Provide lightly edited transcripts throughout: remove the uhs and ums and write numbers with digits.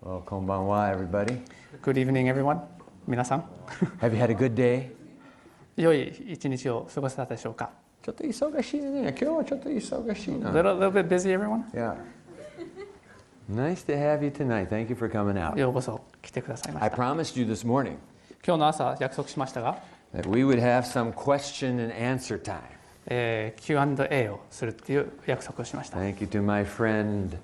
Well, こんばんは everybody. Good evening, everyone. 皆さん、 Have you had a good day? 良い一日を過ごせたでしょうか。 ちょっと忙しいね。今日はちょっと忙しいな。 little bit busy, everyone? Yeah. Nice to have you tonight. Thank you for coming out. ようこそ来てくださいまし I た。 promised you this morning 今日の朝約束しましたが、 that we would have some question and answer time. Q&A をするっていう約束をしました。 Thank you to my friend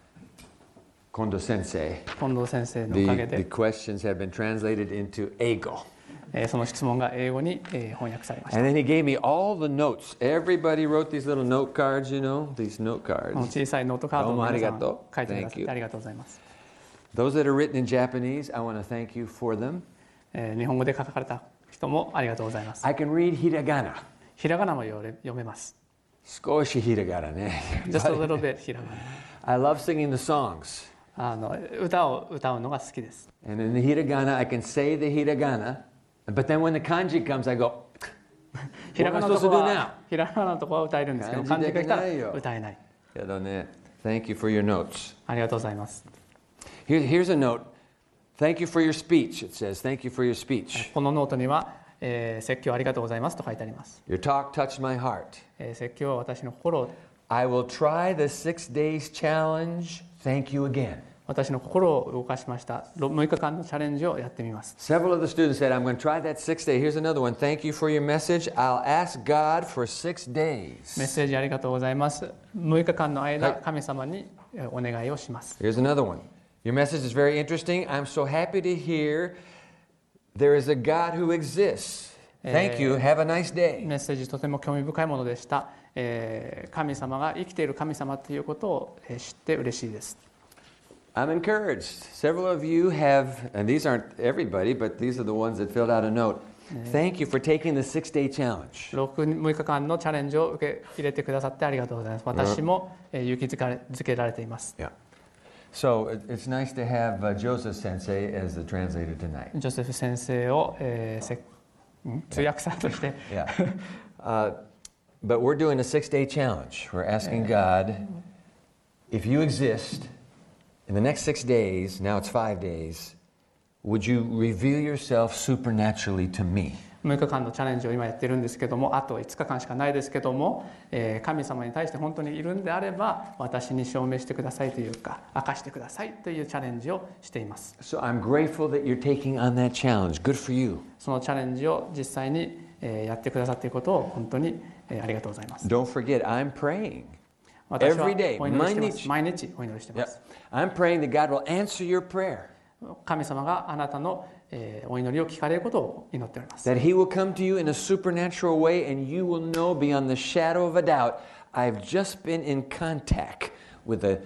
Kondo Sensei. 近藤先生のおかげ The で、 questions have been translated into Eigo. その質問が英語に翻訳されました。 And then he gave me all the notes. Everybody wrote these little note cards, you know, these note この cards. 小さいノートカードを皆さんどうもありがとう。 書いてくださっ Thank you. てありがとうございます。 Those that are written in Japanese, I want to thank you for them. 日本語で書かれた人もありがとうございます。 I can read hiragana. ひらがなも読めます。 少しhiraganaね。 Just a little bit ひらがな。 I love singing the songs. 歌を歌うのが好きです。 And in the hiragana, I can say the hiragana. But then when the kanji comes, I go, ひらがな What am I supposed to のとこ do はひらがなのとこは歌えるんですけど、漢字が来たら歌えない。 Thank you for your notes. ありがとうございます。 Here's a note. Thank you for your speech. It says, thank you for your speech. このノートには、説教ありがとうございますと書いてあります。 Your talk touched my heart. 説教は私の心を I will try the 6 days challenge. Thank you again. 私の心を動かしました。6日間のチャレンジをやってみます。 Several of the students said, I'm going to try that 6 day. Here's another one. Thank you for your message. I'll ask God for 6 days. メッセージありがとうございます。6日間の間、 はい神様にお願いをします。 Here's another one. Your message is very interesting. I'm so happy to hear there is a God who exists. Thank you. Have a nice day. メッセージとても興味深いものでした。神様が生きている神様ということを知って嬉しいです。 I'm encouraged. Several of you have, and these aren't everybody, but these are the ones that filled out a note. Thank you for taking the 6-day challenge. 6日間のチャレンジを受け入れてくださってありがとうございます。私も勇気づけられています。 Yeah. So it's nice to have Joseph Sensei as the translator tonight. ジョセフ先生を、通訳者として、 Yeah. But we're doing a 6-day challenge. We're asking God, if you exist in the next 6 days, now it's 5 days, would you reveal yourself supernaturally to me? 6日間のチャレンジを今やってるんですけども、あと5日間しかないですけども、神様に対して本当にいるんであれば私に証明してくださいというか明かしてくださいというチャレンジをしています。 So I'm grateful that you're taking on that challenge. Good for you. そのチャレンジを実際にやってくださっていることを本当にありがとうございます。 Don't forget, I'm praying. 私は Every day, お祈りしてます。毎日お祈りしてま Yep. す。 I'm praying that God will answer your prayer. 神様があなたのお祈りを聞かれることを祈っております。 That He will come to you in a supernatural way and you will know beyond the shadow of a doubt, I've just been in contact with the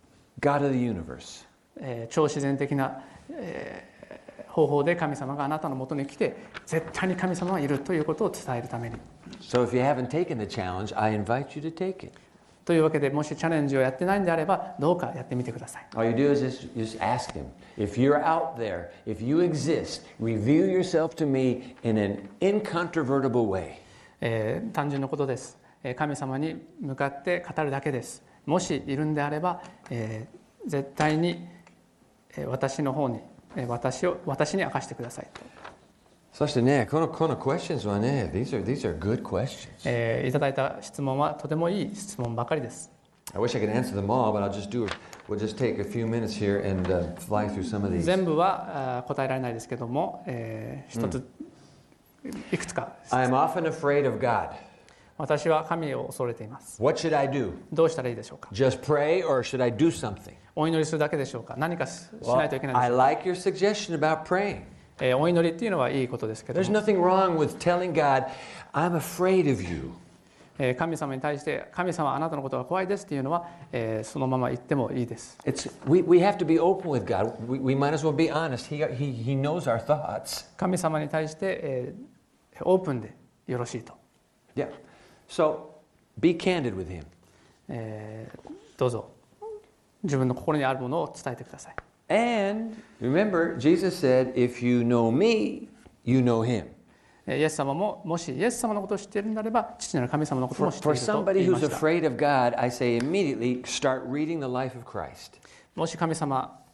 God of the universe. 超自然的な、方法で神様があなたのもとに来て絶対に神様がいるということを伝えるために。 So if you haven't taken the challenge, I invite you to take it. というわけでもしチャレンジをやってないんであればどうかやってみてください。 All you do is just ask Him, if you're out there, if you exist, reveal yourself to me in an incontrovertible way. 単純なことです。神様に向かって語るだけです。もしいるんであれば、絶対に私の方に私に明かしてくださいと。 そしてね、この questions はね、these are good questions. いただいた質問はとてもいい質問ばかりです。 I wish I could answer them all, but we'll just take a few minutes here and fly through some of these. 全部は答えられないですけども、一ついくつか。 I'm often afraid of God. 私は神を恐れています。 What should I do? どうしたらいいでしょうか。 Just pray or should I do something? お祈りするだけでしょうか。何かしないといけないで I しょうか。 like your suggestion about praying. お祈りっていうのはいいことですけど There's も、 nothing wrong with telling God, I'm afraid of you. 神様に対して神様あなたのことが怖いですっていうのは、そのまま言ってもいいです。 We have to be open with God. We might as well be honest. He knows our thoughts. 神様に対して、オープンでよろしいと。 Yeah. So be candid with Him. どうぞ自分の心にあるものを伝えてください。 And remember, Jesus said, if you know me, you know Him. イエス様ももしイエス様のことを知っているのであれば父なる神様のことも知ってい For ると somebody 言いま who's した。 afraid of God, I say immediately start reading the life of Christ. もし神様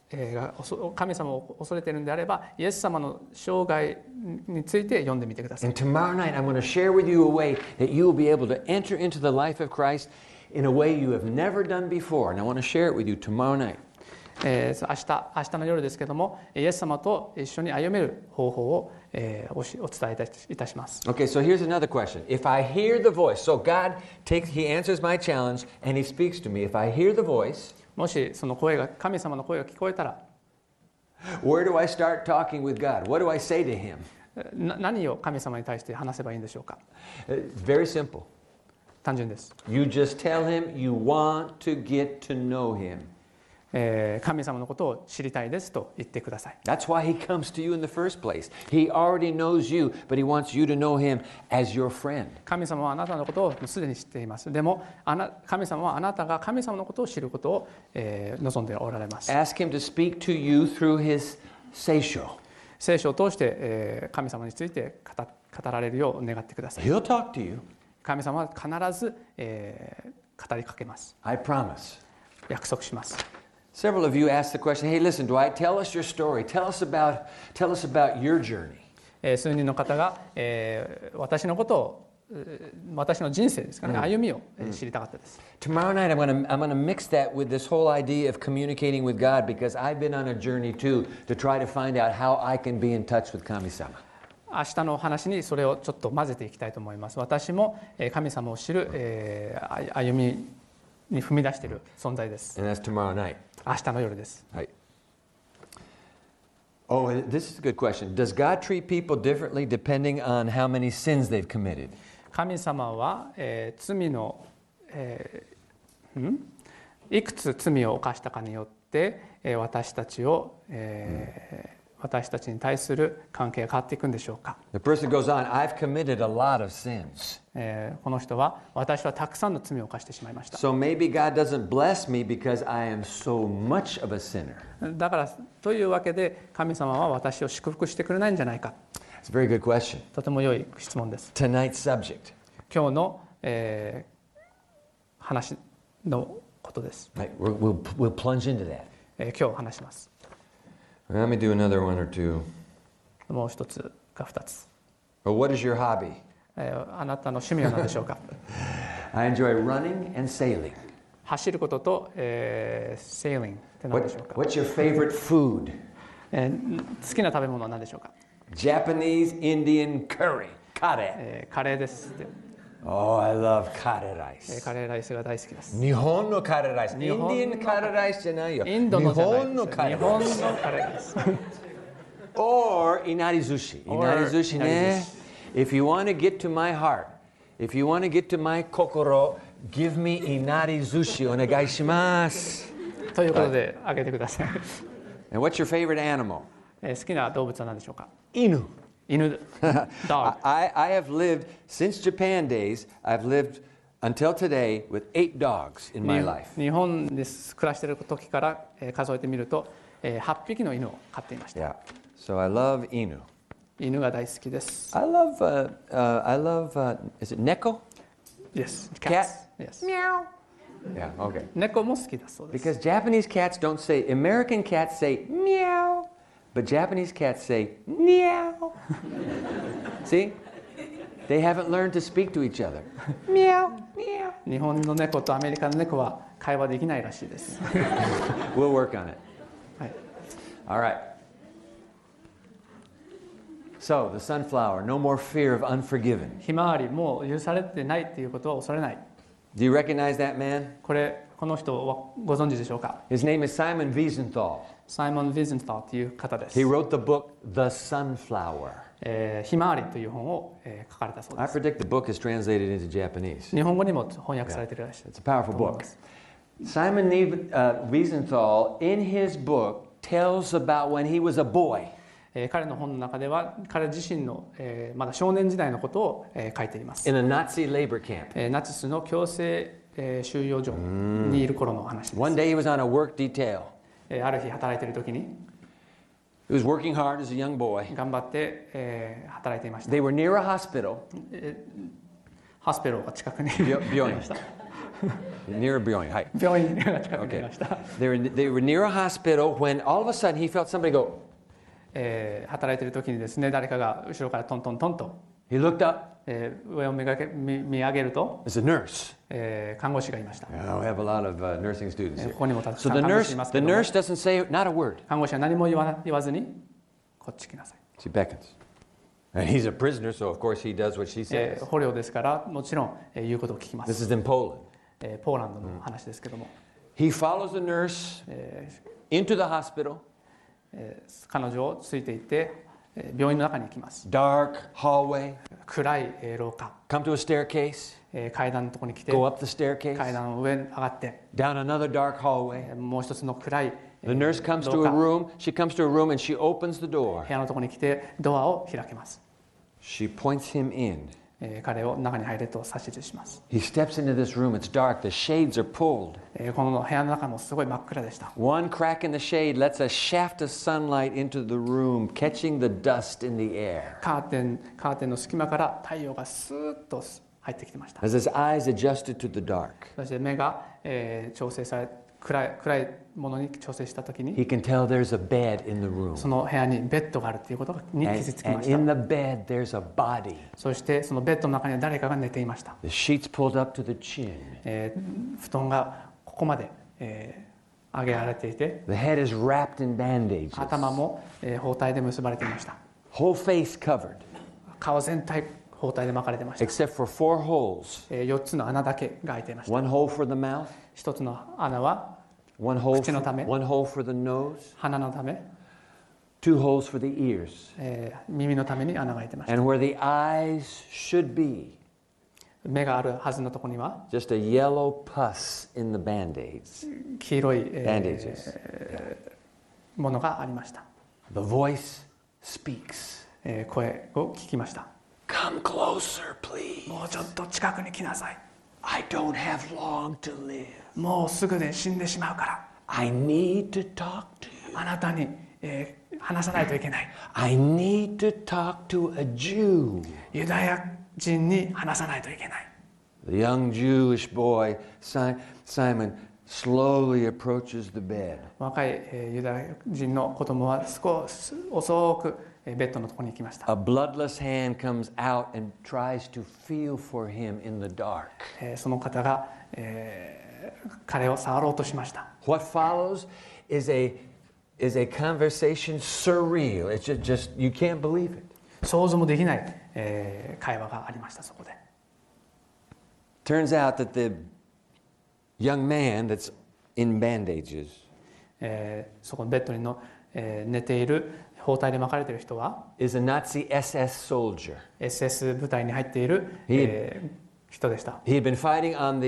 神様を恐れているのであれば、イエス様の生涯について読んでみてください。 And tomorrow night, I'm going to share with you a way that you will be able to enter into the life of Christ in a way you have never done before. And I want to share it with you tomorrow night. 明日の夜ですけども、イエス様と一緒に歩める方法を、お伝えいたします。 Okay, so here's another question. If I hear the voice, so God He answers my challenge and He speaks to me. If I hear the voice, もしその声が、神様の声が聞こえたら、 where do I start talking with God? What do I say to Him? 何を神様に対して話せばいいんでしょうか。 Very simple. 単純です。 You just tell Him you want to get to know Him. 神様のことを知りたいですと言ってください。 That's why He comes to you in the first place. He already knows you, but He wants you to know Him as your friend. 神様はあなたのことをすでに知っています。でも神様はあなたが神様のことを知ることを、望んでおられます。 Ask Him to speak to you through His seisho. 聖書を通して、神様について語られるよう願ってください。 He'll talk to you. 神様は必ず、語りかけます。 I promise. 約束します。 Several of you asked the question, hey, listen, Dwight, tell us your story. Tell us about your journey. 数人の方が、私のことを、私の人生ですかね、歩みを知りたかったです。 Tomorrow night, I'm going to mix that with this whole idea of communicating with God because I've been on a journey too to try to find out how I can be in touch with Kami-sama. 明日の話にそれをちょっと混ぜていきたいと思います。私も神様を知る、歩みに踏み出している存在です。 And that's tomorrow night. 明日の夜です。 Right. Oh, this is a good question. Does God treat people differently depending on how many sins they've committed? 神様は、罪の、いくつ罪を犯したかによって、私たちに対する関係が変わっていくんでしょうか。 The person goes on, I've committed a lot of sins. この人は私はたくさんの罪を犯してしまいました。 So maybe God doesn't bless me because I am so much of a sinner. だからというわけで神様は私を祝福してくれないんじゃないか。 It's a very good question. とても良い質問です。 Tonight's subject. 今日の、話のことです。 Right, we'll plunge into that. 今日話します。 Let me do another one or two. もう一つか二つ。 Well, what is your hobby? あなたの趣味は何でしょうか。 I enjoy running and sailing. 走ることと、sailing って何でしょうか。 What's your favorite food? 好きな食べ物は何でしょうか。 Japanese Indian curry. Kare. カレーです。 Oh, I love kare rice. カレーライスが大好きです。 日本のカレーライス。 日本の Indian カレーライスじゃないよ。 インドのじゃないです。 日本のカレー日本ライス。 のカレーです。 Or いなり寿司。いなり寿司ね。If you want to get to my heart, if you want to get to my 心, give me いなり寿司お願いします。 ということで、あげてください。 And what's your favorite animal? 好きな動物は何でしょうか。 犬。 犬。Dog. I have lived, since Japan days, I've lived until today with 8 dogs in my life. 日本で暮らしている時から数えてみると8匹の犬を飼っていました。 Yeah. So I love 犬。 犬が大好きです。 I love, is it neko? Yes. Cat? Yes. Meow. Yeah, okay. 猫も好きだそうです。 Because Japanese cats don't say, American cats say meow, but Japanese cats say meow. See? They haven't learned to speak to each other. Meow, meow. 日本の猫とアメリカの猫は会話できないらしいです。 We'll work on it. はい。 All right. So, the sunflower, no more fear of unforgiven. ひまわりもう許されてないっていうことは恐れない。 Do you recognize that man? この人はご存知でしょうか。 His name is Simon Wiesenthal. サイモン・ヴィゼンターという方です。 He wrote the book, The Sunflower. ひまわりという本を、書かれたそう I です。 predict the book is translated into Japanese. 日本語にも翻訳されているらしい。 It's a powerful book. Simon Wiesenthal, in his book, tells about when he was a boy. 彼の本の中では彼自身の、まだ少年時代のことを、書いています。 In a Nazi labor camp. ナチスの強制、収容所にいる頃の話です。 One day he was on a work detail. ある日働いている時に He was working hard as a young boy. 頑張って、働いていました。 They were near a hospital. ハスペローが近くに病院ありました。 Near a building. Hi. 病院が近くにいました、 They were near a hospital when all of a sudden he felt somebody go. 働いている時にですね、誰かが後ろからトントントンと、 He looked up. 上を見上げると、 It's a nurse. 看護師がいました。 We have a lot of nursing students こ here. こにもたく So さん the 看護師いますけ the ども、 nurse doesn't say not a word. 看護師は何も言わずに、こっち来なさい。 She beckons. And he's a prisoner, so of course he does what she says. 捕虜ですから、もちろん、言うことを聞きま This す。 is in Poland. ポーランドの話ですけども、 He follows the nurse into the hospital, 彼女をついていって、病院の中に行きます。 dark hallway, 暗い廊下、 come to a staircase, 階段のところに来て、 go up the 階 staircase, 段の上に上がって、 down another dark hallway. もう一つの暗い The nurse comes to 廊 a 下、 room. She comes to a room and she opens the door. 部屋のところに来て、ドアを開けます。 She points him in. 彼を中に入れと指図します。 He steps into this room. It's dark. The shades are pulled. この部屋の中もすごい真っ暗でした。 One crack in the shade lets a shaft of sunlight into the room, catching the dust in the air. カーテンの隙間から太陽がスーッと入ってきてました。 As his eyes adjusted to the dark, そして目が、調整され暗いものに調整したときに、 he can tell there's a bed in the room. その部屋にベッドがあるということに気 And, づきま and した。 in the bed, there's a body. そしてそのベッドの中には誰かが寝ていました。 The sheets pulled up to the chin. 布団がここまで、上げられていて、 The head is wrapped in bandages. 頭も、包帯で結ばれていました。 Whole face covered, 顔全体包帯で巻かれていました。 except for 4 holes. 4つの穴だけが開いていました。 One hole for the mouth, 1つの穴は one hole 口のため。 one hole for the nose, 鼻のため、 2 holes for the ears. 耳のために穴が開いていました。 And where the eyes should be, 目があるはずのところには just a yellow pus in the band-aids. 黄色い、 Bandages. ものがありました。 The voice speaks. 声を聞きました。 Come closer, please. もうちょっと近くに来なさい。 I don't have long to live. もうすぐで死んでしまうから。 I need to talk to you. あなたに、話さないといけない。 I need to talk to a Jew. ユダヤ人に話さないといけない。 The young Jewish boy, Simon, slowly approaches the bed. 若い、ユダヤ人の子供は少し遅く、ベッドのところに行きました。 A bloodless hand comes out and tries to feel for him in the dark. その方が、彼を触ろうとしました。 What follows is a conversation surreal. It's just you can't believe it. 想像もできない、会話がありました。そこで Turns out that the young man that's in bandages そこのベッドにの、寝ている包帯で巻かれている人は is a Nazi SS soldier. SS 部隊に入っている、人でした。 He had been fighting on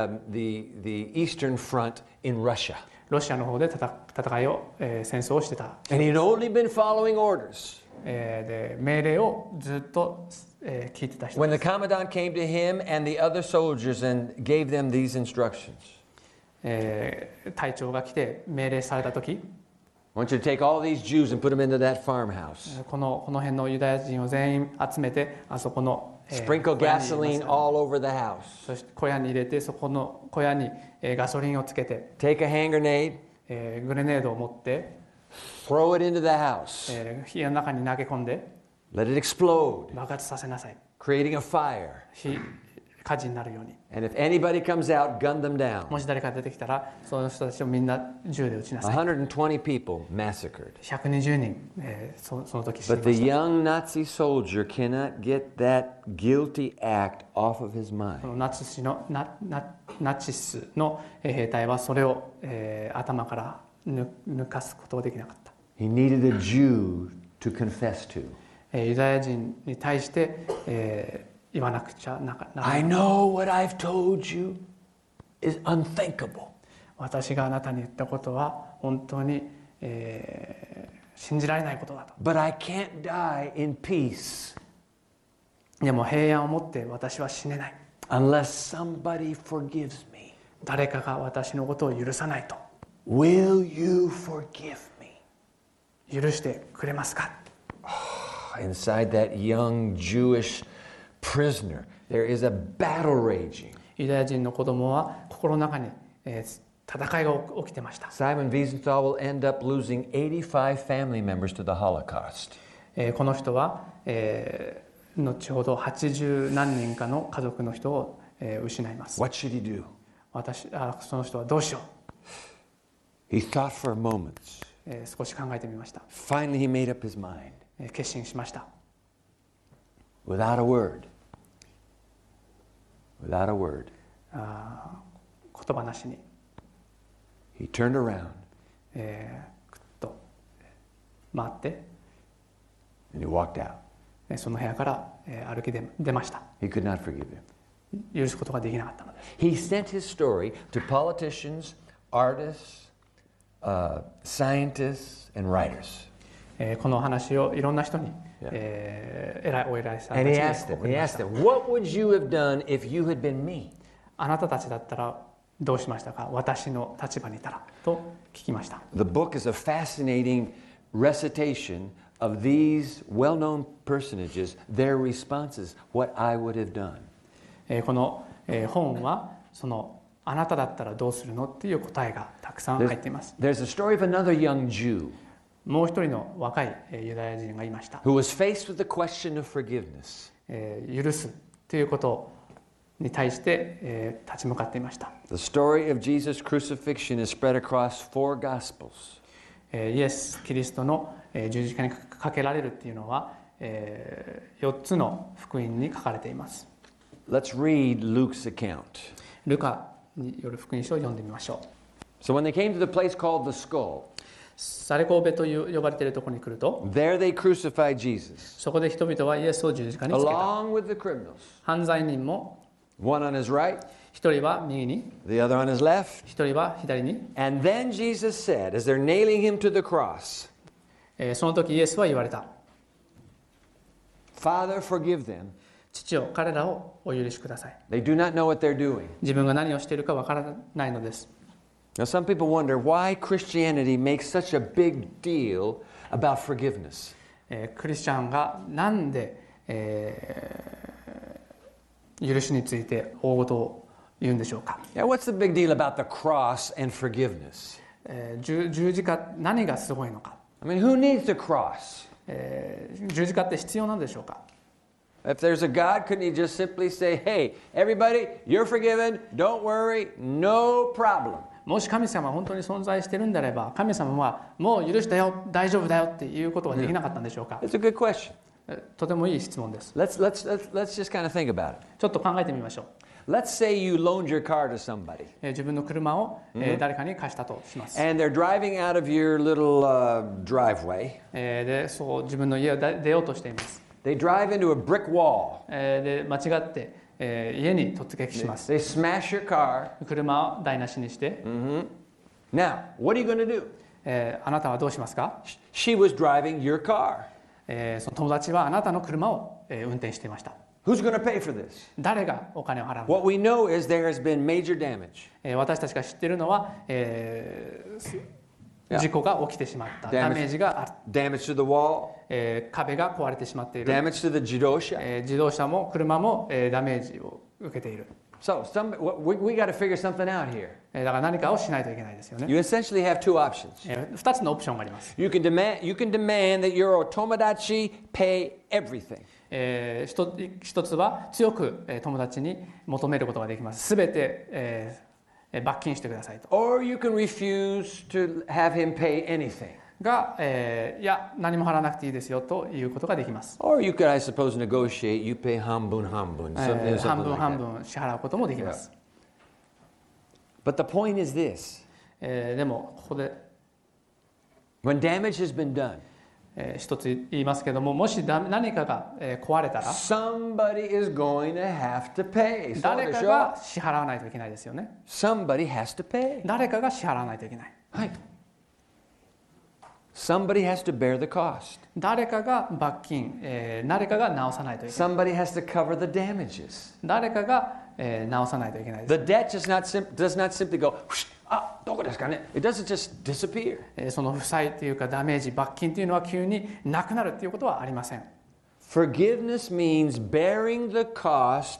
the Eastern Front in Russia. ロシアの方で戦いを、戦争をしてた。 And he'd only been following orders. で命令をずっと、聞いてた人 When で the す。 commandant came to him and the other soldiers and gave them these instructions. 隊長が来て命令された時、 I want you to take all these Jews and put them into that farmhouse. この辺のユダヤ人を全員集めてあそこの、 Sprinkle 小屋に入れ gasoline ま all over the house. そして小屋に入れてそこの小屋に、ガソリンをつけて、 Take a hand grenade, グレネードを持って、 throw it into the house. 火の中に投げ込んで Let it explode, 爆発させなさい。 creating a fire. 火事になるように。 And if anybody comes out, gun them down. もし誰か出てきたらその人たちをみんな銃で撃ちなさい。 120 people massacred. 120人、その時死に But ま the した。 young Nazi soldier cannot get that guilty act off of his そ mind. のナチスの兵隊はそれを、頭から抜かすことができなかった。 He needed a Jew to confess to. ユダヤ人に対して、言わなくちゃならな I い。 know what I've told you is unthinkable. 私があなたに言ったことは本当に、信じられないことだと。 But I can't die in peace でも平安を持って私は死ねない。 unless somebody forgives me. 誰かが私のことを許さないと。 Will you forgive me? 許してくれますか。 Inside that young Jewish prisoner, there is a battle raging. ユダヤ人の子供は心の中に、戦いが起きてました。 Simon Wiesenthal will end up losing 85 family members to the Holocaust. この人は、後ほど80何人かの家族の人を、失います。 What should he do? その人はどうしよ He thought for a moment. う、少し考えてみました。 Finally, he made up his mind. 決心しました。 Without a word. Without a word. 言葉なしに、 He turned around くっと回って、 and he walked out. その部屋から、歩き出ました。 He could not forgive him. 許すことができなかったのです。 He sent his story to politicians, artists, scientists, and writers. この話をいろんな人に、お偉いさんたち And に he asked 送りました。 them, what would you have done if you had been me? あなたたちだったらどうしましたか、私の立場にいたらと聞きました。 The book is a fascinating recitation of these well-known personages, their responses, what I would have done. この本はそのあなただったらどうするのっていう答えがたくさん入っています。 There's a story of another young Jew もう一人の若いユダヤ人がいました。 who was faced with the question of forgiveness. 許すということに対して、立ち向かっていました。 The story of Jesus' crucifixion is spread across 4 Gospels. イエス・キリストの十字架にかけられるっていうのは、4つの福音に書かれています。 Let's read Luke's account. ルカによる福音書を読んでみましょう。 So when they came to the place called the skull, サレコーベと呼ばれているところに来ると、 there they crucified Jesus, そこで人々はイエスを十字架につけた。 along with the criminals, 犯罪人も one on his right, 一人は右に、 the other on his left. 一人は左に。 And then Jesus said, as they're nailing him to the cross, その時イエスは言われた。 Father, forgive them. 父よ、彼らをお許しください。 They do not know what they're doing. 自分が何をしているかわからないのです。 Now, some people wonder why Christianity makes such a big deal about forgiveness. クリスチャンがなんで、許しについて大事を言うんでしょうか。 Now, what's the big deal about the cross and forgiveness? 十字架、何がすごいのか。 I mean, who needs the cross? 十字架って必要なんでしょうか。 If there's a God, couldn't he just simply say, hey, everybody, you're forgiven, don't worry, no problem? もし神様が本当に存在しているんであれば、神様はもう許したよ、大丈夫だよっていうことができなかったんでしょうか。 It's a good question. とてもいい質問です。 Let's just kind of think about it. ちょっと考えてみましょう。 Let's say you loaned your car to somebody, 自分の車を、誰かに貸したとします。 and they're driving out of your little driveway. で、そう自分の家を出ようとしています。 They drive into a brick wall. で、間違って、家に突撃します。 They smash your car. 車を台無しにして、 Now, what are you going to do? あなたはどうしますか。 She was driving your car. その友達はあなたの車を、運転していました。 Who's going to pay for this? 誰がお金を払うのか。 What we know is there has been major damage. 私たちが知っているのは、事故が起きてしまった。ダメージがある。 Damage to the wall, 壁が壊れてしまっている。 damage to the jidosha. 自動車も車も、ダメージを受けている。 So we got to figure something out here. だから何かをしないといけないですよね。 You essentially have two options. 2つのオプションがあります。 You can demand that your otomodachi pay everything. 一つは強く友達に求めることができます。すべて、罰金してくださいと。 Or you can refuse to have him pay anything. が、いや何も払わなくていいですよということができます。 Or you could, I suppose, negotiate. You pay hambun, 半 something 分 like 半 that. 分支払うこともできます。 But the point is this: でもここで、 when damage has been done, 一つ言いますけども、もし何かが、壊れたら somebody is going to have to pay. 誰かが支払わないといけないですよね。 Somebody has to pay. 誰かが支払わないといけない。 はい。Somebody has to bear the cost. 誰かが罰金、誰かが直さないといけない。 Somebody has to cover the damages. 誰かが、直さないといけないです。 The debt does not simply go, it doesn't just disappear. その負債というかダメージ、罰金というのは急になくなるということはありません。 Forgiveness means bearing the cost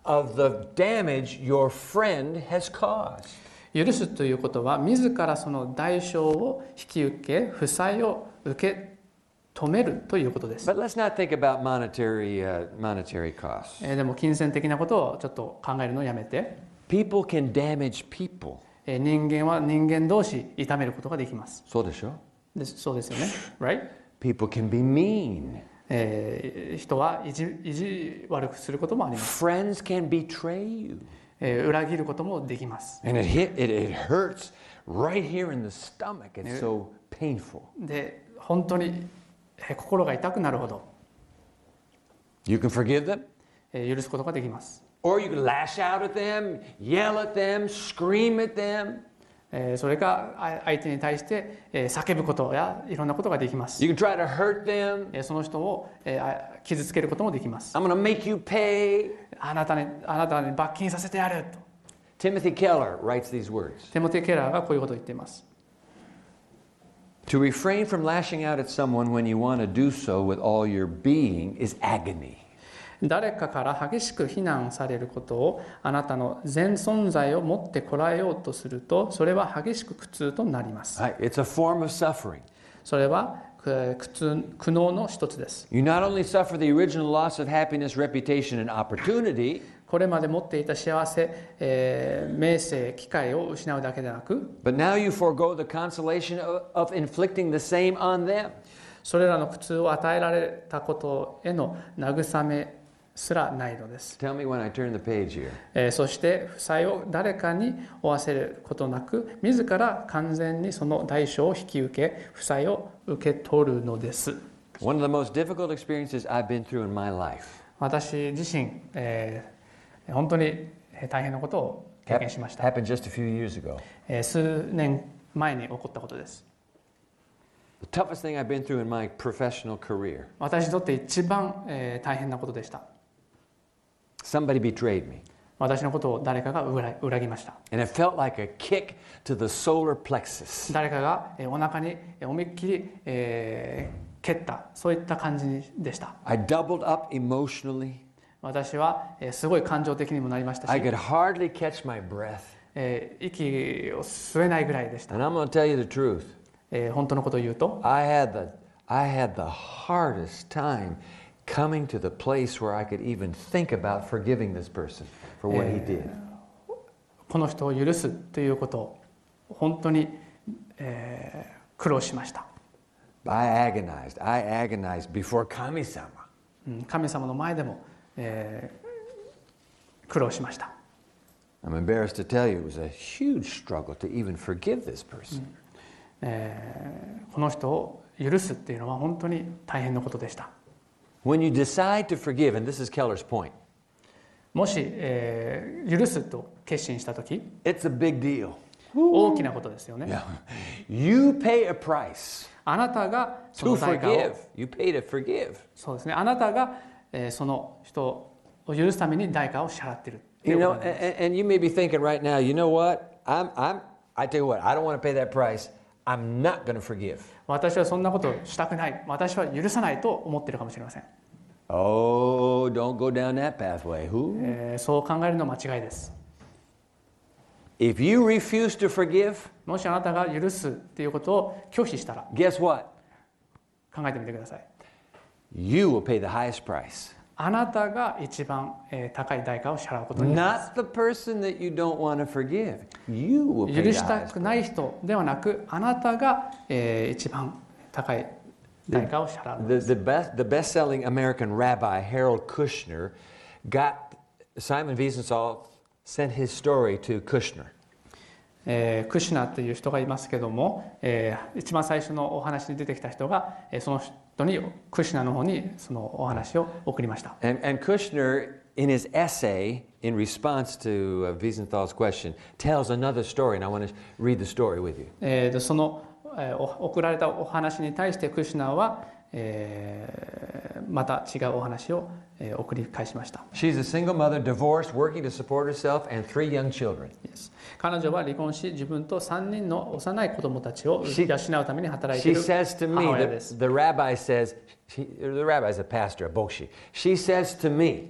of the damage your friend has caused. 許すということは、自らその代償を引き受け、負債を受け止めるということです。 But let's not think about monetary costs. でも金銭的なことをちょっと考えるのをやめて、 People can damage people. 人間は人間同士痛めることができます。 そうでしょ？ そうですよね。Right? People can be mean. 人は意地悪くすることもあります。 Friends can betray you. 裏切ることもできます。 And it hurts right here in the stomach. It's so painful. で、本当に心が痛くなるほど You can forgive them, 許すことができます。 or you can lash out at them, yell at them, scream at them. それか相手に対して叫ぶことやいろんなことができます。 You can try to hurt them. その人を傷つけることもできます。 I'm going to make you pay. あなたに罰金させてやると。 Timothy Keller writes these words. テモテ・ケラーがこういうことを言っています。 To refrain from lashing out at someone when you want to do so with all your being is agony. 誰かから激しく非難されることをあなたの全存在を持ってこらえようとすると、それは激しく苦痛となります。 Right? It's a form of suffering. それは苦悩の一つです。 You not only suffer the original loss of happiness, reputation, and opportunity, これまで持っていた幸せ、名声、機会を失うだけでなく、 but now you forego the consolation of inflicting the same on them. それらの苦痛を与えられたことへの慰めすらないのです。 Tell me when I turn the page here. そして負債を誰かに負わせることなく、自ら完全にその代償を引き受け、負債を受け取るのです。 One of the most difficult experiences I've been through in my life 私自身、本当に大変なことを経験しました。 happened just a few years ago. 数年前に起こったことです。 The toughest thing I've been through in my professional career. 私にとって一番、大変なことでした。 Somebody betrayed me. 私のことを誰かが裏切りました。 And it felt like a kick to the solar plexus. 誰かがお腹に思いっきり、蹴った、そういった感じでした。 I doubled up emotionally. 私はすごい感情的にもなりましたし、 I could hardly catch my breath. 息を吸えないぐらいでした。 And I'm going to tell you the truth. 本当のことを言うと、 I had the hardest time coming to the place where I could even think about forgiving this person for what he did. この人を許すということを本当に、苦労しました。 I agonized before Kami-sama. 神様の前でも、苦労しました。 I'm embarrassed to tell you it was a huge struggle to even forgive this person. この人を許すっていうのは本当に大変なことでした。 When you decide to forgive, and this is Keller's point, もし、許すと決心したとき、 it's a big deal. 大きなことですよね。 Yeah. You pay a price あなたがそ to の代価を forgive. You pay to forgive. そうですね。あなたが、その人を許すために代価を支払っているってい You うこ know, となんです。 and you may be thinking right now, you know what? I tell you what, I don't want to pay that price. I'm not going to forgive. 私はそんなことをしたくない。私は許さないと思っているかもしれません。 Oh, don't go down that pathway. Who? そう考えるのは間違いです。 If you refuse to forgive, もしあなたが許すっていうことを拒否したら guess what? 考えてみてください。 You will pay the highest price. あなたが一番高い代価を支払うことになります。 Not the person that you don't want to forgive. You will pay 許 the した highest くない人ではなく、あなたが、一番高い代価を支払う。 The best-selling American rabbi Harold Kushner got Simon Wiesenthal sent his story to Kushner. クシュナという人がいますけども、一番最初のお話に出てきた人が、その人にクシュナの方にそのお話を送りました。 And Kushner, in his essay in response to Wiesenthal's question, tells another story, and I want to read the story with you. その送られたお話に対してクシュナは、また違うお話を送り返しました。 She's a single mother, divorced, working to support herself and 3 young children. 彼女は離婚し、自分と3人の幼い子供たちを養うために働いてい She る says to me, 母親です。 the rabbi says, the rabbi's a pastor, a bokshi. She says to me,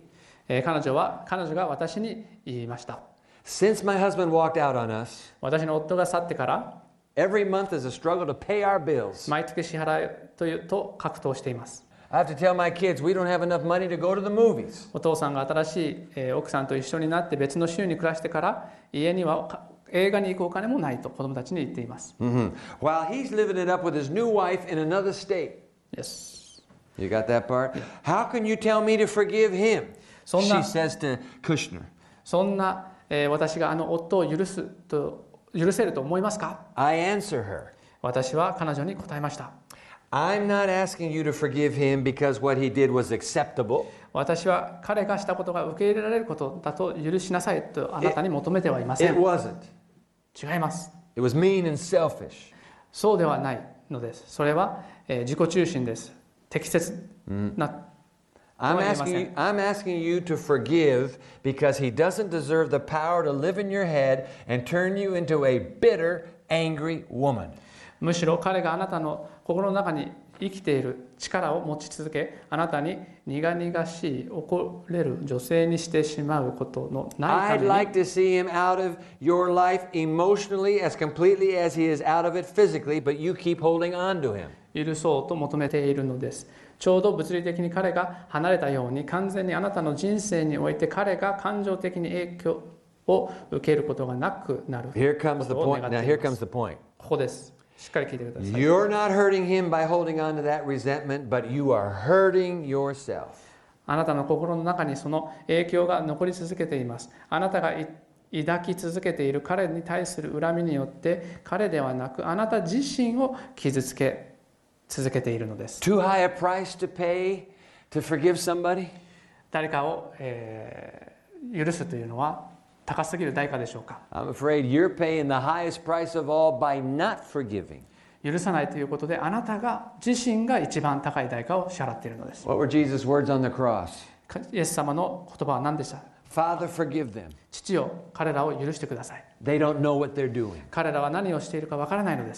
彼女が私に言いました。 Since my husband walked out on us, 私の夫が去ってから、 every month is a struggle to pay our bills. 毎月支払いと格闘しています。 I have to tell my kids we don't have enough money to go to the movies. お父さんが新しい奥さんと一緒になって別の州に暮らしてから、家には映画に行くお金もないと子供たちに言っています。 While he's living it up with his new wife in another state. Yes. You got that part? How can you tell me to forgive him? そんな She says to Kushner. そんな、私が夫を許せると思いますか？ I answer her. 私は彼女に答えました。 I'm not asking you to forgive him because what he did was acceptable. 私は彼がしたことが受け入れられることだと許しなさいとあなたに求めてはいませ It ん。 wasn't. 違います。 It was mean and selfish. そうではないのです。それは、自己中心です。適切な、 I'm asking you to forgive because he doesn't deserve the power to live in your head and turn you into a bitter, angry woman. むしろ彼があなたの心の中に生きている力を持ち続け、あなたに苦々しい怒れる女性にしてしまうことのない I'd ため like に to see him out of your life emotionally as completely as he is out of it physically, but you keep holding on to him. 許そうと求めているのです。ちょうど物理的に彼が離れたように、完全にあなたの人生において彼が感情的に影響を受けることがなくなる。 Here comes the ことを point. 願 Now ってい here ま comes す。 the point. ここです。しっかり聞いてください。 You're not hurting him by holding on to that resentment, but you are hurting yourself. あなたの心の中にその影響が残り続けています。あなたが抱き続けている彼に対する恨みによって、彼ではなくあなた自身を傷つけ続けているのです。 Too high a price to pay to forgive somebody? 誰かを、許すというのは高すぎる代価でしょうか。 I'm afraid you're paying the highest price of all by not forgiving. 許さないということで、あなたが自身が一番高い代価を支払っているのです。 What were Jesus' words on the cross? イエス様の言葉は何でした？ Father, forgive them. 父よ、彼らを許してください。 They don't know what they're doing. 彼らは何をしているかわからないのです。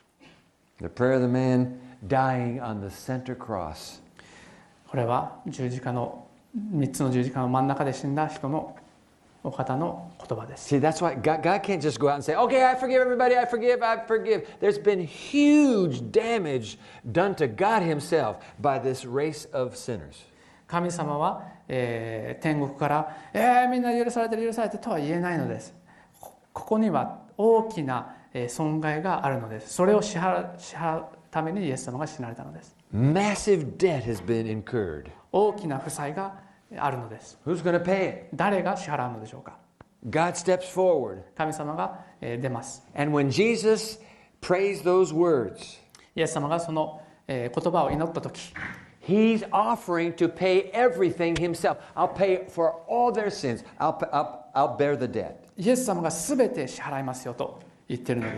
The prayer of the man dying on the center cross. これは3つの十字架の真ん中で死んだ人のお方の言葉です。 See, that's why God can't just go out and say, okay, I forgive everybody, I forgive. There's been huge damage done to God himself by this race of sinners. 神様は、天国から、みんな許されてるとは言えないのです。ここには大きな損害があるのです。それを支払うためにイエス様が死なれたのです。 Massive debt has been incurred. 大きな負債があるのです。 Who's going to pay it? 誰が支払うのでしょうか。 God steps forward. 神様が出ます。 And when Jesus prays those words, イエス様がその言葉を祈ったとき、 he's offering to pay everything himself. I'll pay for all their sins. I'll bear the debt. イエス様がすべて支払いますよと言っているのです。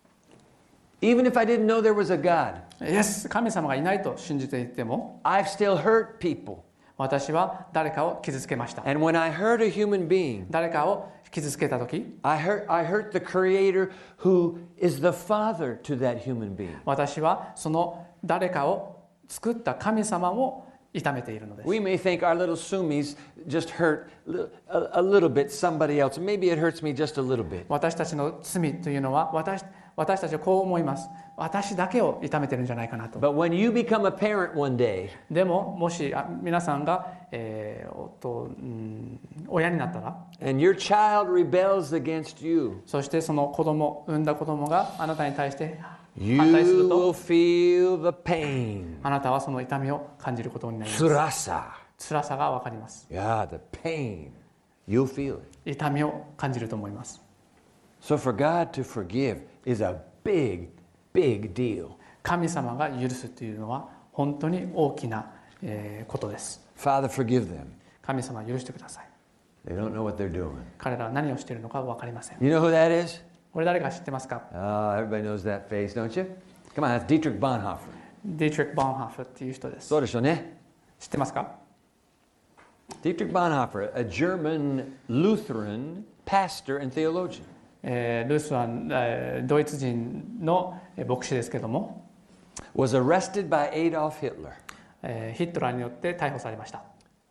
Even if I didn't know there was a God, 神様がいないと信じていても、 I've still hurt people. 私は誰かを傷つけました。 And when I hurt a human being, 誰かを傷つけたとき、 I hurt the Creator who is the father to that human being. 私はその誰かを作った神様を痛めているのです。 We may think our little sumis just hurt a little bit somebody else. Maybe it hurts me just a little bit. 私たちの罪というのは私たちはこう思います。私だけを痛めてるんじゃないかなと。 But when you become a parent one day, でももし皆さんが、親になったら、 and your child rebels against you, そしてその産んだ子供があなたに対して you 反対する will と、 feel the pain. あなたはその痛みを感じることになります。 Tsurasa. 辛さがわかります。 Yeah, the pain. You'll feel it. 痛みを感じると思います。 So for God to forgive is a big, big deal. 神様が許すというのは本当に大きなことです。 Father, forgive them. 神様許してください。 They don't know what they're doing. 彼らは何をしているのか分かりません。 You know who that is? これ誰か知ってますか？ Oh, everybody knows that face, don't you? Come on, that's Dietrich Bonhoeffer. ディートリック・ボンハーフっていう人です。 そうでしょうね。 知ってますか？ Dietrich Bonhoeffer, a German Lutheran pastor and theologian. ルースはドイツ人の牧師ですけども、 Was arrested by Adolf Hitler. ヒットラーによって逮捕されました。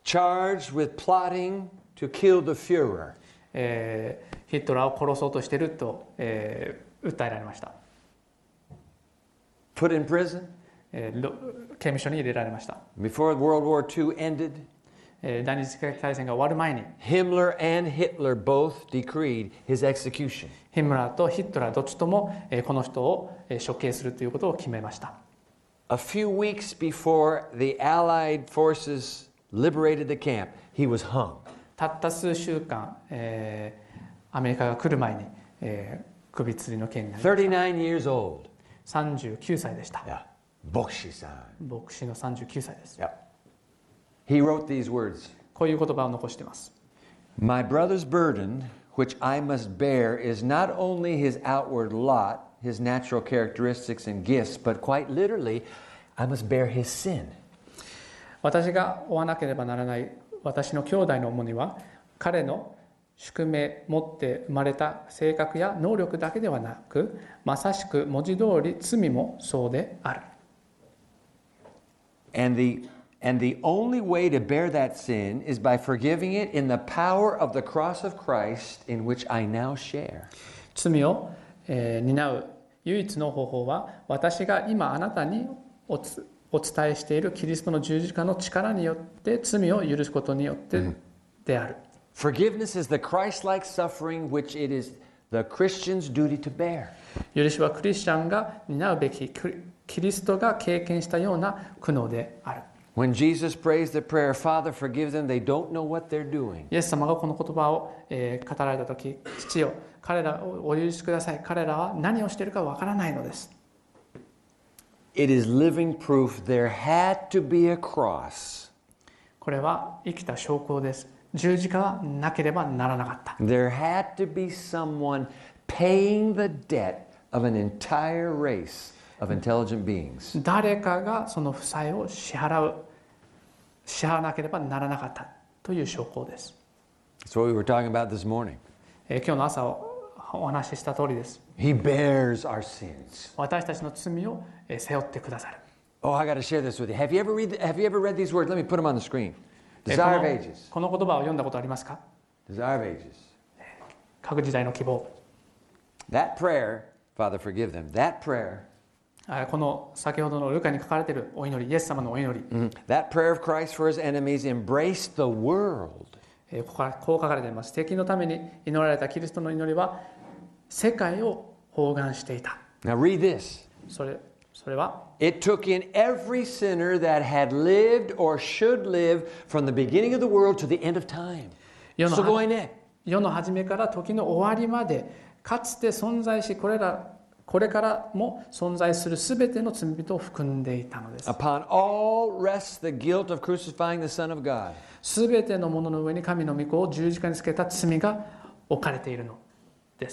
charged with plotting to kill the Führer. ヒットラーを殺そうとしていると、訴えられました。 Put in prison. 刑務所に入れられました。 Before World War II ended, 第二次世界大戦が終わる前に Himmler and Hitler both decreed his execution. ヒムラーとヒットラーどっちともこの人を処刑するということを決めました。 A few weeks before the Allied forces liberated the camp, he was hung. たった数週間、アメリカが来る前に、首吊りの刑になりました。 39 years old. 39歳でした。 Yeah. 牧師さん。 牧師の39歳です。 Yeah. He wrote these words. こういう言葉を残しています。 My brother's burden, which I must bear, is not only his outward lot, his natural characteristics and gifts, but quite literally, I must bear his sin. 私が負わなければならない私の兄弟の重荷は、彼の宿命持って生まれた性格や能力だけではなく、まさしく文字通り罪もそうである。 And the only way to bear that sin is by forgiving it in the power of the cross of Christ in which I now share. 罪を、担う唯一の方法は、私が今あなたにお伝えしているキリストの十字架の力によって罪を許すことによってである。 Forgiveness is the Christ-like suffering which it is the Christian's duty to bear. 許しはクリスチャンが担うべきキリストが経験したような苦悩である。 When Jesus prays the prayer, Father, forgive them, they don't know what they're doing. イエス様がこの言葉を、語られたとき、父よ、彼らをお許しください。彼らは何をしているかわからないのです。 It is living proof there had to be a cross. これは生きた証拠です。十字架はなければならなかった。 There had to be someone paying the debt of an entire race of intelligent beings. 誰かがその負債を支払わなければならなかったという証拠です。 That's what we were talking about this morning. 今日の朝お話しした通りです。 He bears our sins. 私たちの罪を背負ってくださる。 Oh, I got to share this with you. Have you ever read these words? Let me put them on the screen. Desire of ages. この言葉を読んだことありますか？ Desire of ages. 各時代の希望。 That prayer, Father, forgive them. That prayer. この先ほどのルカに書かれているお祈り、イエス様のお祈り。 That prayer of Christ for his enemies embraced the world. こう書かれています。敵のために祈られたキリストの祈りは世界を包含していた。 Now read this. それは It took in every sinner that had lived or should live from the beginning of the world to the end of time. すごいね。 世の初めから時の終わりまで、かつて存在し、これからも存在するすべての罪人を含んでいたのです。 Upon all rests the guilt of crucifying the Son of God. すべてのものの上に神の御子を十字架につけた罪が置かれているのです。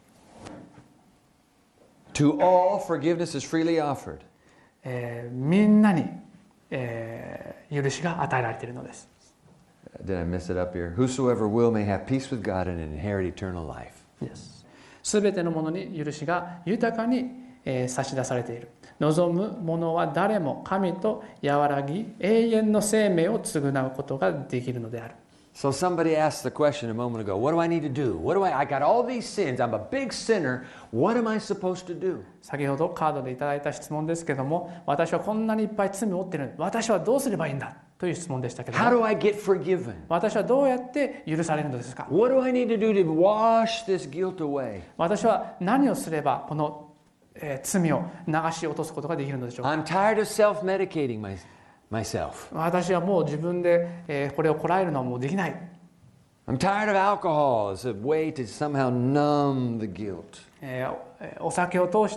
To all forgiveness is freely offered. みんなに、許しが与えられているのです。 Did I miss it up here? Whosoever will may have peace with God and inherit eternal life. すべてのものに許しが豊かに、差し出されている。望む者は誰も神と和らぎ永遠の生命を償うことができるのである。 So somebody asked the question a moment ago, what do I need to do? I got all these sins. I'm a big sinner. What am I supposed to do? 先ほどカードでいただいた質問ですけども、私はこんなにいっぱい罪を負っている。私はどうすればいいんだという質問でしたけども、 How do I get forgiven? 私はどうやって許されるのですか？ What do I need to do to wash this guilt away? 私は何をすればこの、罪を流し落とすことができるのでしょうか？ I'm tired of self-medicating myself. 私はもう自分で、これをこらえるのはもうできない。 I'm tired of alcohol as a way to somehow numb the guilt. お酒を通して、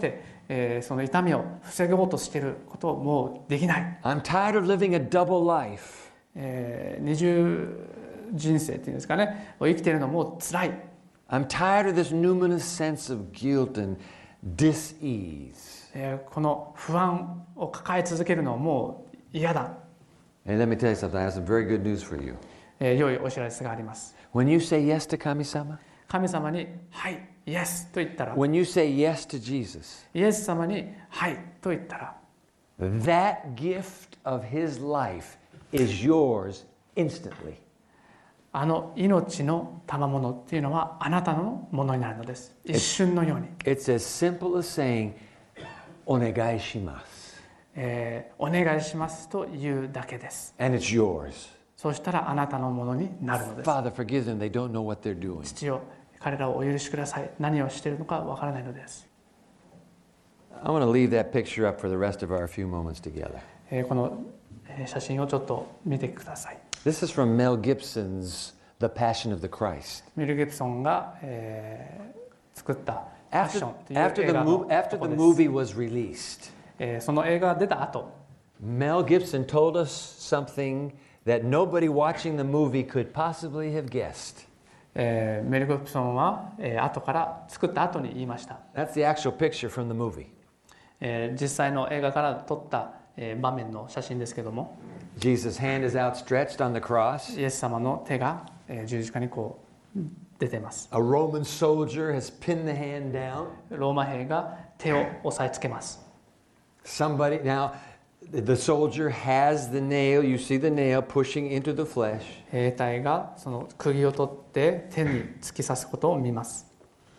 その痛みを防ごうとしていることをもうできない。 I'm tired of living a double life. 二重人生っていうんですかね、生きているのもう辛い。 I'm tired of this numinous sense of guilt and dis-ease. この不安を抱え続けるのはもう嫌だ。 And let me tell you something. I have some very good news for you. 良いお知らせがあります。 When you say yes to Kami-sama, 神様にはいイエスと言ったら、 when you say yes to Jesus, イエス様にはいと言ったら、 that gift of his life is yours instantly. あの命の賜物っていうのはあなたのものになるのです。一瞬のように。 It's as simple as saying, お願いします。 お願いしますというだけです。 And it's yours. そうしたらあなたのものになるのです。 Father, forgive them. They don't know what they're doing. 父よ、彼らをお許しください。何をしているのかわからないのです。 I want to leave that picture up for the rest of our few moments together. この写真をちょっと見てください。 This is from Mel Gibson's The Passion of the Christ. メル・ギブソンが、作った「パッション」という After 映 the 画の after とこ the です。 movie was released, その映画が出た後、 Mel Gibson told us something that nobody watching the movie could possibly have guessed. メル・ギブソンは、後から作った後に言いました。 That's the actual picture from the movie. 実際の映画から撮った、場面の写真ですけども、 Jesus' hand is outstretched on the cross. イエス様の手が、十字架にこう出てます。 A Roman soldier has pinned the hand down. ローマ兵が手を押さえつけます。 Somebody now, the soldier has the nail. You see the nail pushing into the flesh. 兵隊がその釘を取って手に突き刺すことを見ます。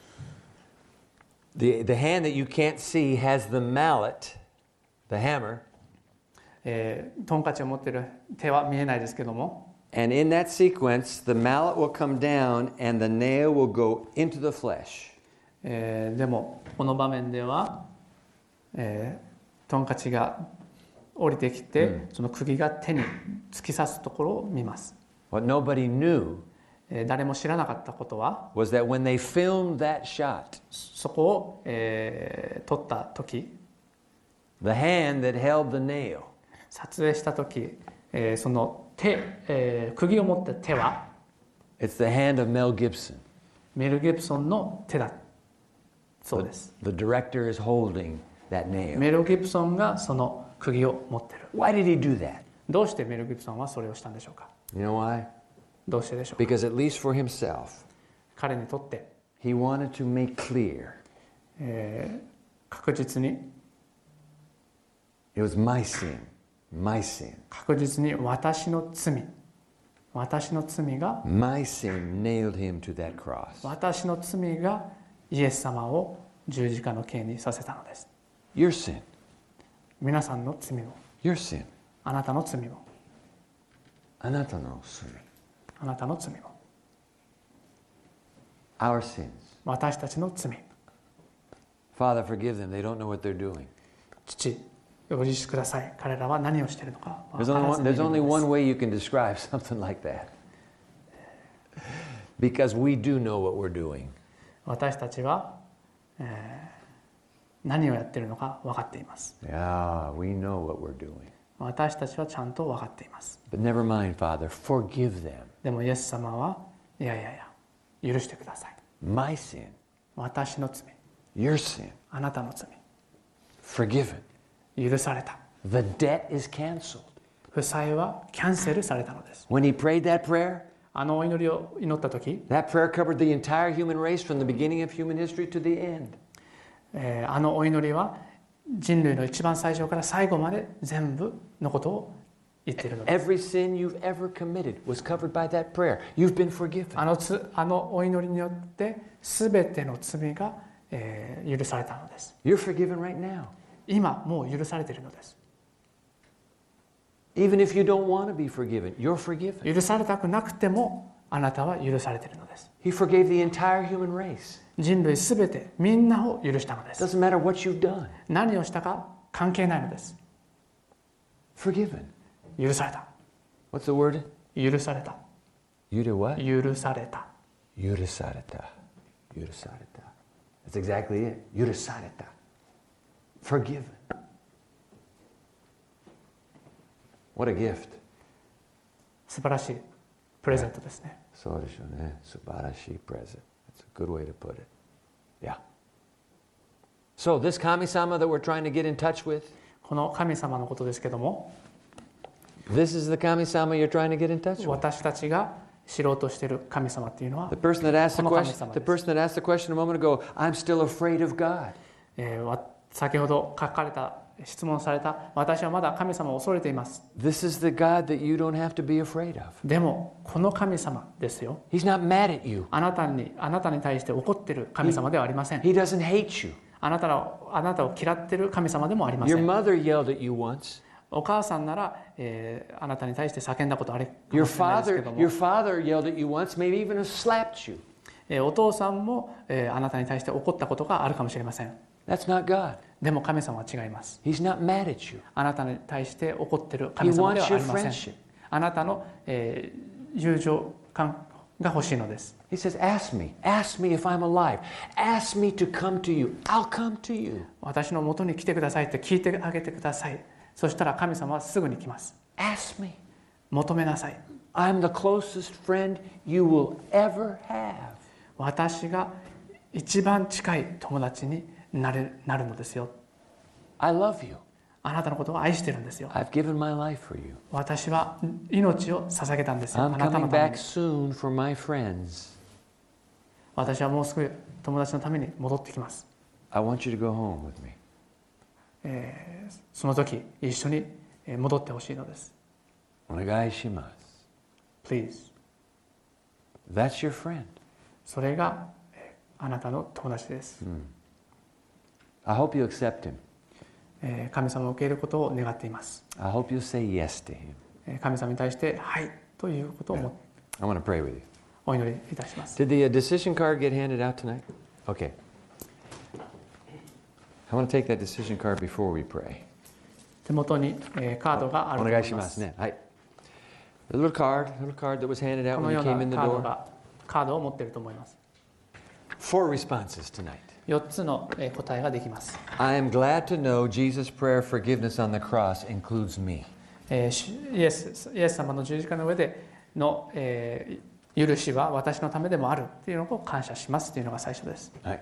The hand that you can't see has the mallet, the hammer. トンカチを持っている手は見えないですけども、 And in that sequence, the mallet will come down and the nail will go into the flesh. でもこの場面では、トンカチが降りてきて、その釘が手に突き刺すところを見ます。 What nobody knew 誰も知らなかったことは、 was that when they filmed that shot, そこを、撮った時、 the hand that held the nail 撮影した時、その手、釘を持った手は it's the hand of Mel Gibson. メル・ギブソンの手だそうです。 The director is holding that nail. メル・ギブソンがその釘を持っている。 Why did he do that? どうしてメル・ギブソンはそれをしたんでしょうか。 You know why? どうしてでしょうか。 Because at least for himself, 彼にとって、 he wanted to make clear 確実に it was my sin, my sin. 確実に私の罪が My sin nailed him to that cross. 私の罪がイエス様を十字架の刑にさせたのです。 Your sin, 皆さんの罪も、 your sin. あなたの罪も、 あなたの罪。 あなたの罪も、 Our sins. 私たちの罪。 Father, forgive them. They don't know what they're doing. 父、お許しください。彼らは何をしているのか分 There's から only ず one, にい there's る only のです one way you can describe something like that. Because we do know what we're doing. 私たちは、何をやっているのか分かっています。 Yeah, we know what we're doing. 私たちはちゃんと分かっています。 But never mind, Father. Forgive them. でもイエス様はいやいやいや許してください。 My sin, 私の罪、 your sin, あなたの罪、 forgiven. 許された。 The debt is canceled. 負債はキャンセルされたのです。 When he prayed that prayer, あのお祈りを祈った時、 that prayer covered the entire human race from the beginning of human history to the end. あのお祈りは人類の一番最初から最後まで全部のことを言っているのです。 Every sin you've ever committed was covered by that prayer. You've been forgiven. あのお祈りによって全ての罪が、許されたのです。 You're forgiven right now. 今もう許されているのです。 Even if you don't want to be forgiven, you're forgiven. 許されたくなくてもあなたは許されているのです。 He forgave the entire human race. 人類すべてみんなを許したのです。 Doesn't matter what you've done. 何をしたか関係ないのです。 Forgiven. 許された。 What's the word? 許された。 You did what? 許された。 Yurusareta. Yurusareta. That's exactly it. Yurusareta. Forgiven. What a gift. 素晴らしいプレゼントですね。 So Subarashi present. That's a good way to put it. Yeah. So this Kami-sama that we're trying to get in touch with, この神様のことですけども、 this is the Kami-sama you're trying to get in touch with. 私たちが知ろうとしている神様っていうのは The person that asked the この神 question, 様 the です。 person that asked the question a moment ago, I'm still afraid of God. 先ほど書かれた質問された。私はまだ神様を恐れています。 This is the God that you don't have to be afraid of. でもこの神様ですよ。 He's not mad at you. あなたに対して怒っている神様ではありません。 He doesn't hate you. あなたを嫌っている神様でもありませ Your ん。 mother yelled at you once. お母さんなら、あなたに対して叫んだことあるか Your もしれないですけども、 father yelled at you once, maybe even slapped you. お父さんも、あなたに対して怒ったことがあるかもしれません。 That's not God. でも神様は違います。 He's not mad at you. あなたに対して怒っている神様ではありま He wants your せん friendship. あなたの、友情感が欲しいのです。 He says, ask me if I'm alive. Ask me to come to you. I'll come to you. 私の元に来てくださいって聞いてあげてください。そしたら神様はすぐに来ます。 Ask me. 求めなさい。 I'm the closest friend you will ever have. 私が一番近い友達になるのですよ。 I love you. あなたのことを愛してるんですよ。 I've given my life for you. 私は命を捧げたんですよ。あ I'm なた coming のため back に。 soon for my friends. 私はもうすぐ友達のために戻ってきます。 I want you to go home with me. その時一緒に戻ってほしいのです。 Onegai shimasu. Please。 That's your friend. それがあなたの友達です。 I hope you accept him. 神様を受け入れることを願っています。 I hope you say yes to him. 神様に対してはいということを I want to pray with you. お祈りいたします。 Did the decision card get handed out tonight? Okay. I want to take that decision card before we pray. 手元にカードがあると思います。 The little card that was handed out この when よ you う came in the な door. カードを持っていると思います。 4 responses tonight. 4つの答えができます。 I am glad to know Jesus' prayer forgiveness on the cross includes me. イエス様の十字架の上での、許しは私のためでもあるというのを感謝しますというのが最初です。 I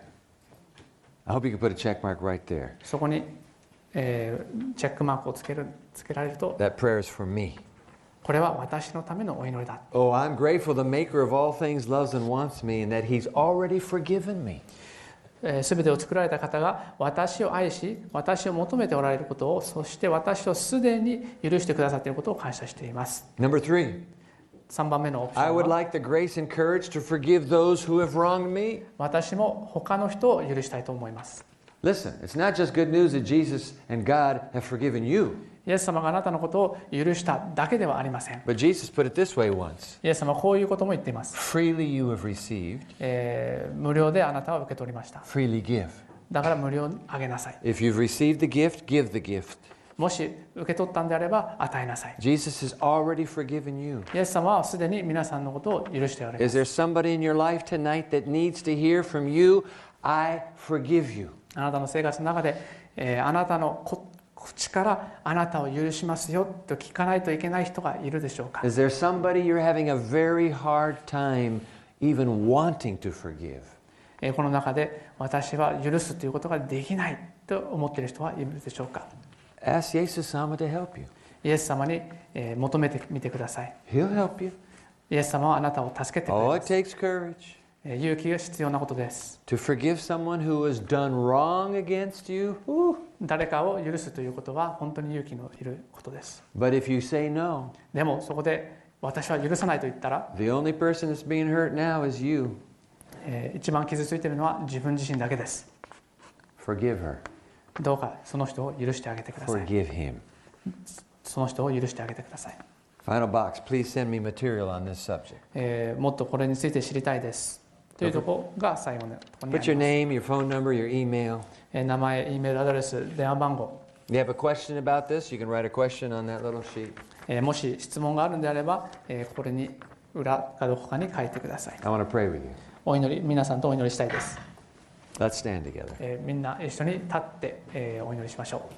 hope you can put a check mark right there. そこに、チェックマークをつけられると、 That prayer is for me. これは私のためのお祈りだ。 Oh, I'm grateful the maker of all things loves and wants me and that he's already forgiven me. すべてを作られた方が私を愛し、私を求めておられることを、そして私をすでに許してくださっていることを感謝しています。 Number 3. 3番目のオプシ I ョン would は、 like the grace and courage to forgive those who have wronged me. 私も他の人を許したいと思います。 Listen, it's not just good news that Jesus and God have forgiven you, イエス様があなたのことを許しただけではありません。 but Jesus put it this way once. イエス様はこういうことも言っています。 Freely you have received, 無料であなたは受け取りました。 freely give. だから無料にあげなさい。 If you've received the gift, give the gift. もし受け取ったんであれば与えなさい。 Jesus has already forgiven you. イエス様はすでに皆さんのことを許しておられま Is す。 there somebody in your life tonight that needs to hear from you, I forgive you? あなたの生活の中で、あなたの口からあなたを許しますよと聞かないといけない人がいるでしょうか。 Is there somebody you're having a very hard time even wanting to forgive? この中で私は許すということができないと思っている人はいるでしょうか。 Ask Jesus sama to help you. イエス様に求めてみてください。 He'll help you. イエス様はあなたを助けてくれ Oh, ま it す。 takes courage 勇気が必要なことです。 to forgive someone who has done wrong against you. 誰かを許すということは本当に勇気のいることです。 But if you say no, でもそこで私は許さないと言ったら、 the only person that's being hurt now is you. 一番傷ついているのは自分自身だけです。 Forgive her. どうかその人を許してあげてください。 Forgive him. その人を許してあげてください。 Final box. Please send me material on this subject. もっとこれについて知りたいですというところが最後のところにあ Put your りま name, your phone number, your email. す。名前、E メールアドレス、電話番号、 You have a question about this, you can write a question on that little sheet. もし質問があるんであれば、これに裏かどこかに書いてください。 I want to pray with you. お祈り、皆さんとお祈りしたいです。 Let's stand together. みんな一緒に立って、お祈りしましょう。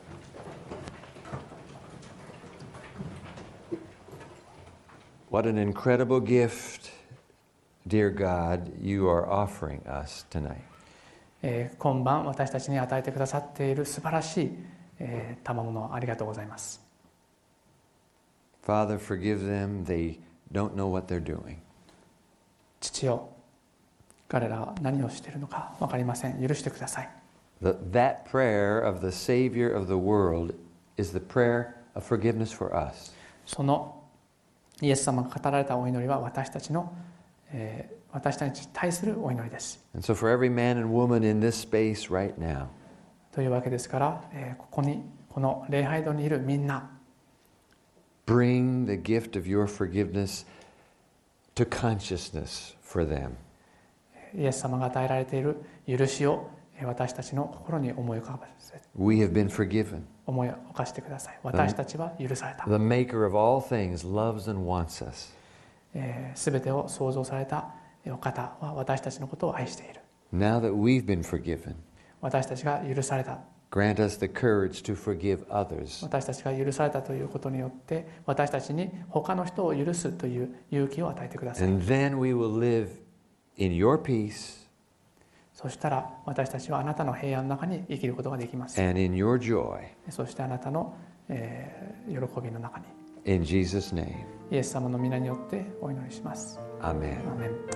What an incredible gift, dear God, you are offering us tonight. 今晩私たちに与えてくださっている素晴らしい賜物をありがとうございます。 Father, forgive them. They don't know what they're doing. 父よ、彼らは何をしているのか分かりません。許してください。 That prayer of the Savior of the world is the prayer of forgiveness for us. そのイエス様が語られたお祈りは私たちに対するお祈りです。 And so for every man and woman in this space right now, というわけですから、この礼拝堂にいるみんな、 bring the gift of your forgiveness to consciousness for them. イエス様が与えられている許しを私たちの心に思い浮かべて、 We have been forgiven. 思い起こしてください。私たちは許された。 The maker of all things loves and wants us. すべてを創造されたお方は私たちのことを愛している。 Now that we've been forgiven, 私たちが許された。 grant us the courage to forgive others. 私たちが許されたということによって私たちに他の人を許すという勇気を与えてください。 And then we will live in your peace そしたら私たちはあなたの平安の中に生きることができます。 and in your joy. そしてあなたの、喜びの中に In Jesus' name, イエス様の皆によってお祈りします。 Amen. アーメン。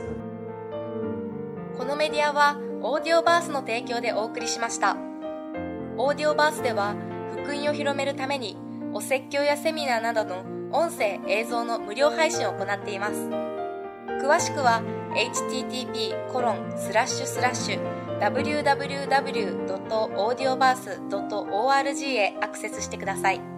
このメディアはオーディオバースの提供でお送りしました。オーディオバースでは福音を広めるためにお説教やセミナーなどの音声映像の無料配信を行っています。詳しくは http://www.audioverse.org へアクセスしてください。